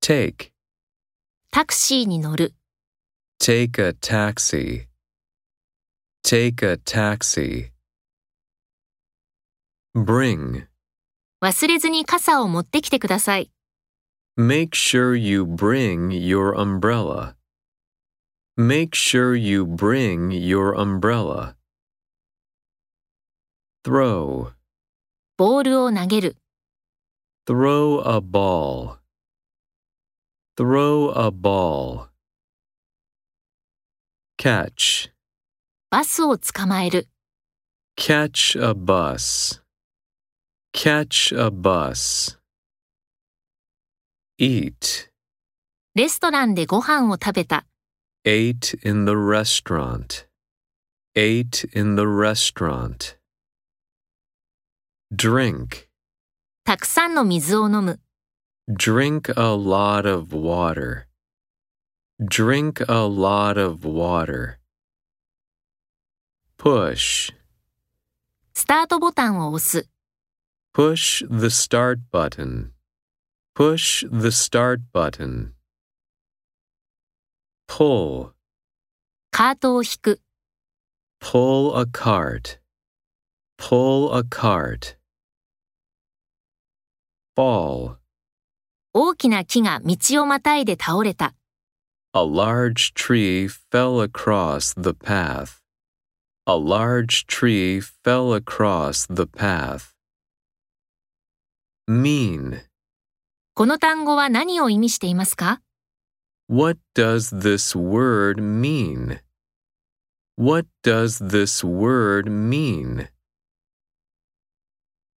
Take. タクシーに乗る。 Take a taxi. Take a taxi. Bring. 忘れずに傘を持ってきてください。 Make sure you bring your umbrella. Make sure you bring your umbrella. Throw. ボールを投げる。 Throw a ball. Throw a ball. Catch. バスを捕まえる。 Catch a bus. Catch a bus. Eat. レストランでご飯を食べた。 Ate in the restaurant. Ate in the restaurant. Drink. たくさんの水を飲む。 Drink a lot of water. Drink a lot of water. Push. スタートボタンを押す。 Push the start button. Push the start button. Pull. カートを引く。 Pull a cart. Pull a cart. Fall. 大きな木が道をまたいで倒れた。 A large tree fell across the path. A large tree fell across the path. Mean. この単語は何を意味していますか？ What does this word mean? What does this word mean?